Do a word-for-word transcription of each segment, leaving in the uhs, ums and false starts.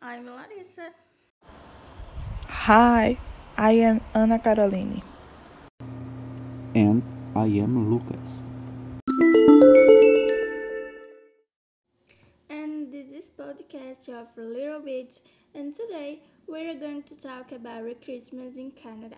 I'm Larissa. Hi, I am Ana Caroline. And I am Lucas. And this is podcast of Little Bits. And today we're going to talk about Christmas in Canada.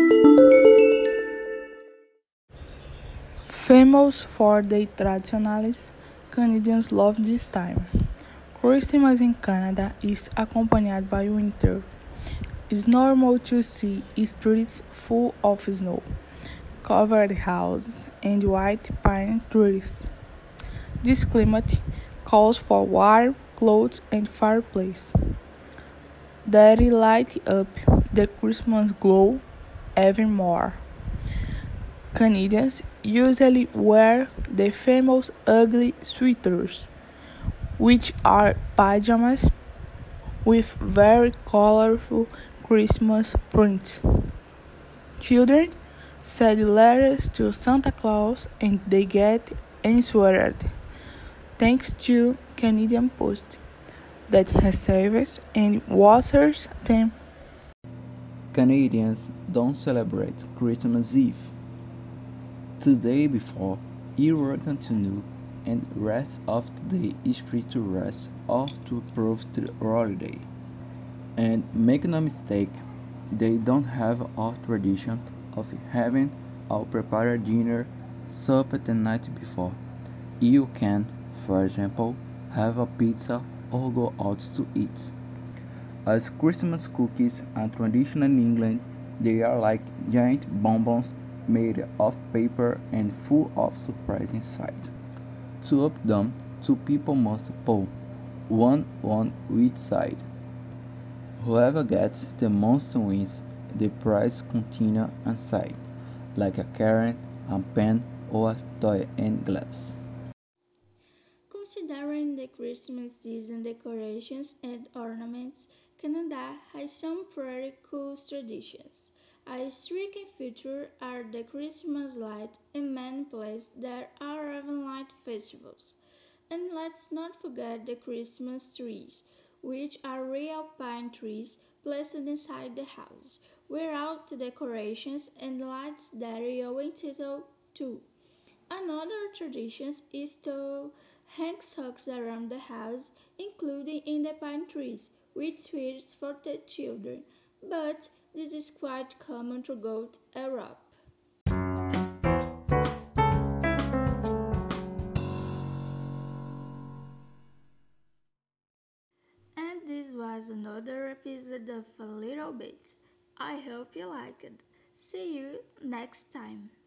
Famous for their traditionals, Canadians love this time. Christmas in Canada is accompanied by winter. It's normal to see streets full of snow, covered houses, and white pine trees. This climate calls for warm clothes and fireplace that light up the Christmas glow even more. Canadians usually wear the famous ugly sweaters, which are pajamas with very colorful Christmas prints. Children send letters to Santa Claus and they get answered thanks to Canadian Post that receives and answers them. Canadians don't celebrate Christmas Eve. The day before, you work until noon, and rest of the day is free to rest or to approve the holiday. And make no mistake, they don't have a tradition of having a prepared dinner supper the night before. You can, for example, have a pizza or go out to eat. As Christmas cookies are traditional in England, they are like giant bonbons made of paper and full of surprise inside. To open them, two people must pull, one on each side. Whoever gets the most wins. The prize contains inside, like a carrot, a pen, or a toy and glass. Considering the Christmas season decorations and ornaments, Canada has some pretty cool traditions. A striking feature are the Christmas lights in many places. There are even light festivals. And let's not forget the Christmas trees, which are real pine trees placed inside the house, without decorations and lights that are entitled to. Another tradition is to hang socks around the house, including in the pine trees, with sweets for the children, but this is quite common throughout Europe. And this was another episode of A Little Bit. I hope you liked it. See you next time.